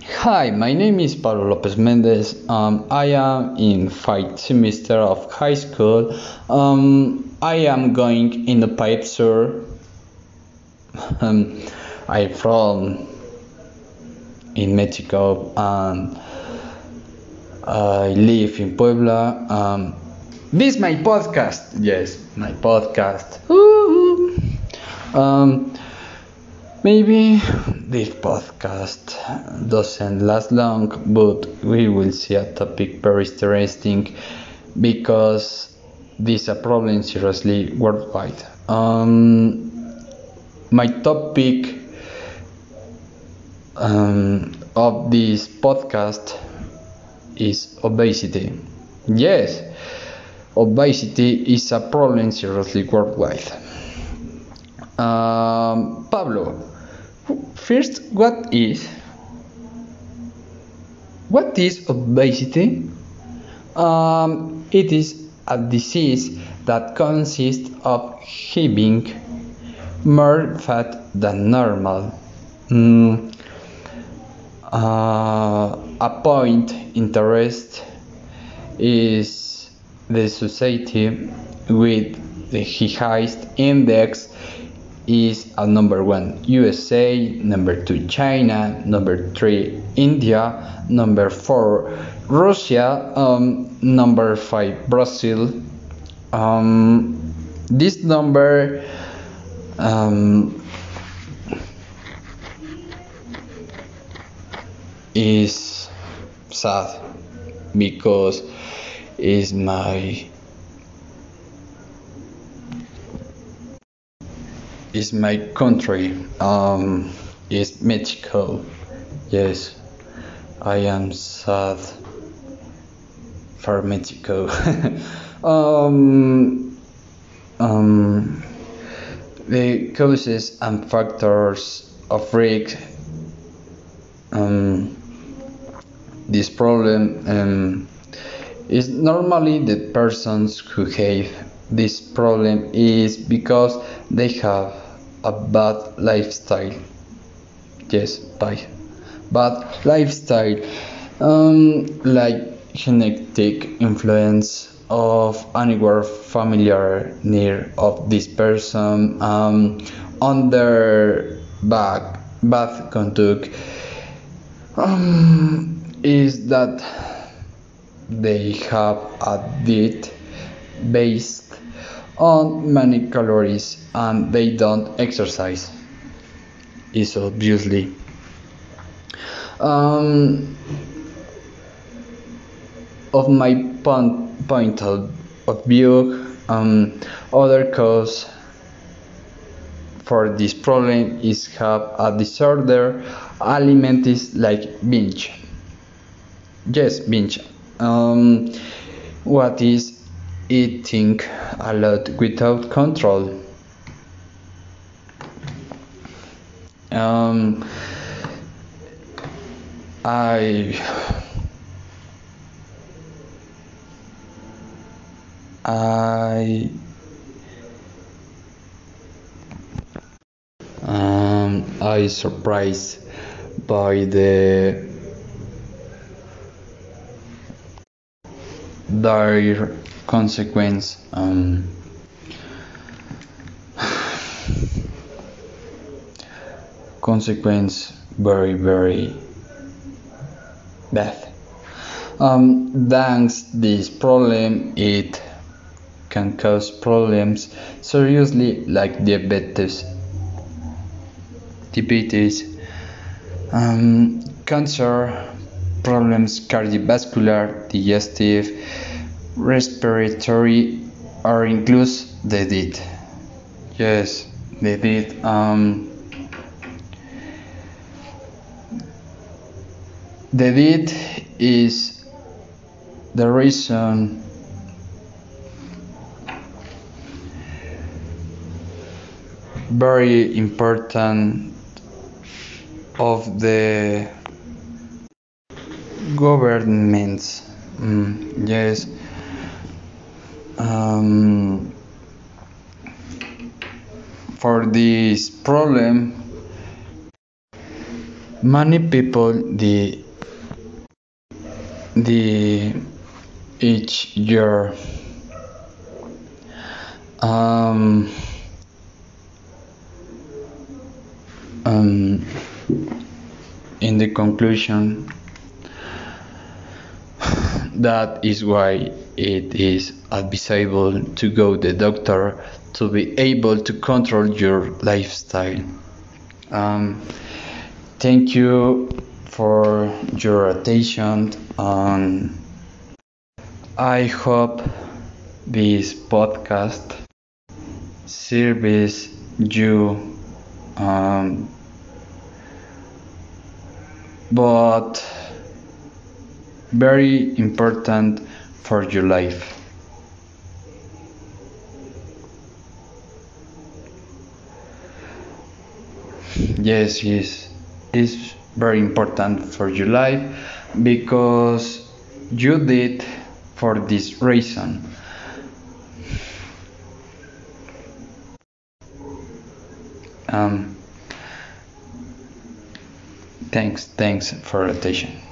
Hi, my name is Pablo Lopez Mendez. I am in 5th semester of high school. I am going in the pipe sur. Um, I'm from in Mexico and I live in Puebla. This is my podcast. Yes, my podcast. Woo! Um, Maybe this podcast doesn't last long, but we will see a topic very interesting because this is a problem seriously worldwide. My topic of this podcast is obesity. Yes, obesity is a problem seriously worldwide. Pablo, first, what is obesity? It is a disease that consists of having more fat than normal. Mm, a point interest is the society with the highest index is at number 1 USA, number 2 China, number 3 India, number 4 Russia, number 5 Brazil. This number is sad because is my country, is Mexico. Yes, I am sad for Mexico. um, um, the causes and factors of risk, this problem is normally the persons who have this problem is because they have a bad lifestyle. Yes, bad lifestyle, like genetic influence of anywhere familiar near of this person, on their bad conduct, is that they have a diet based on many calories and they don't exercise. Is obviously um, of my point of view, other cause for this problem is have a disorder alimentis like binge. Yes, binge. What is eating a lot without control? Um, I I I surprised by the dire consequence, consequence very bad. Thanks this problem, it can cause problems seriously like diabetes, cancer, problems cardiovascular, digestive, respiratory, or includes the death. Yes, the death. The death is the reason very important of the governments. Yes. For this problem, Many people the each year um, um, in the conclusion, that is why it is advisable to go to the doctor to be able to control your lifestyle. Um, Thank you for your attention, and I hope this podcast serves you, um, but very important for your life. Yes, it's very important for your life because you did for this reason. Um, thanks for attention.